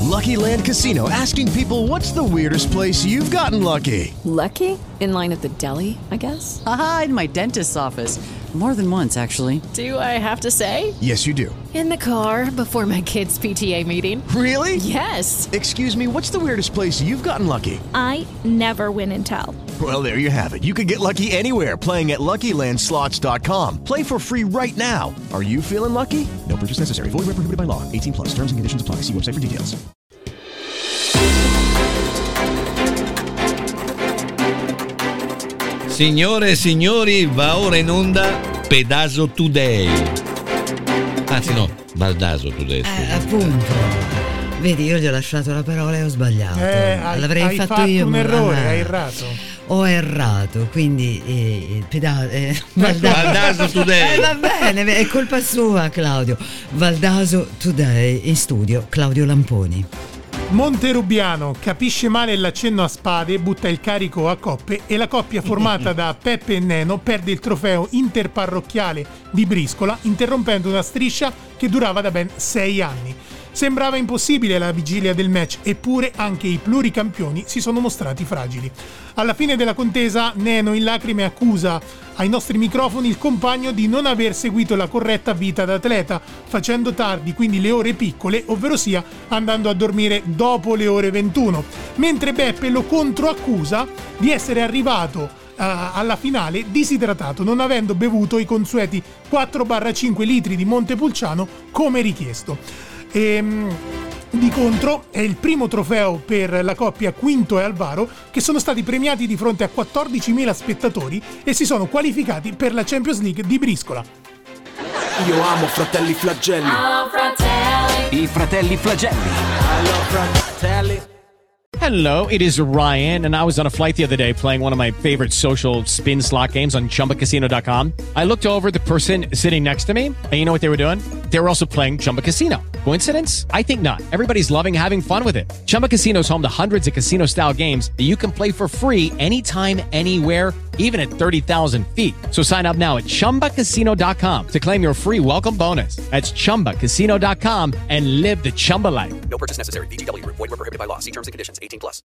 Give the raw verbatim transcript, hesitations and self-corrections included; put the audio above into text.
Lucky Land Casino, asking people, what's the weirdest place you've gotten lucky? Lucky? In line at the deli, I guess? Aha, in my dentist's office. More than once, actually. Do I have to say? Yes, you do. In the car before my kids' P T A meeting. Really? Yes. Excuse me, what's the weirdest place you've gotten lucky? I never win and tell. Well, there you have it. You can get lucky anywhere, playing at Lucky Land Slots dot com. Play for free right now. Are you feeling lucky? No purchase necessary. Void where prohibited by law. eighteen plus. Terms and conditions apply. See website for details. Signore e signori, va ora in onda Pedaso Today. Anzi no, Baldaso Today. Eh, appunto. Vedi, io gli ho lasciato la parola e ho sbagliato. Eh, hai, L'avrei hai fatto, fatto io. un errore, ah, hai errato. Ho errato, quindi eh, peda- eh, Valdaso. Baldaso Today. Eh, va bene, è colpa sua, Claudio. Valdaso Today, in studio Claudio Lamponi. Monterubiano capisce male l'accenno a spade, butta il carico a coppe e la coppia formata da Peppe e Neno perde il trofeo interparrocchiale di briscola, interrompendo una striscia che durava da ben sei anni. Sembrava impossibile la vigilia del match, eppure anche i pluricampioni si sono mostrati fragili. Alla fine della contesa, Neno in lacrime accusa ai nostri microfoni il compagno di non aver seguito la corretta vita d'atleta, facendo tardi, quindi le ore piccole, ovvero sia andando a dormire dopo le ore ventuno, mentre Beppe lo controaccusa di essere arrivato uh, alla finale disidratato, non avendo bevuto i consueti quattro cinque litri di Montepulciano come richiesto. E, di contro è il primo trofeo per la coppia Quinto e Alvaro, che sono stati premiati di fronte a quattordicimila spettatori e si sono qualificati per la Champions League di briscola. Io amo Fratelli Flagelli. Oh, fratelli. I Fratelli Flagelli. Hello, fratelli. Hello, it is Ryan, and I was on a flight the other day playing one of my favorite social spin slot games on Chumba Casino dot com. I looked over at the person sitting next to me, and you know what they were doing? They were also playing Chumba Casino. Coincidence? I think not. Everybody's loving having fun with it. Chumba Casino is home to hundreds of casino-style games that you can play for free anytime, anywhere, even at thirty thousand feet. So sign up now at Chumba Casino dot com to claim your free welcome bonus. That's Chumba Casino dot com and live the Chumba life. No purchase necessary. V G W. Void where prohibited by law. See terms and conditions. eighteen plus.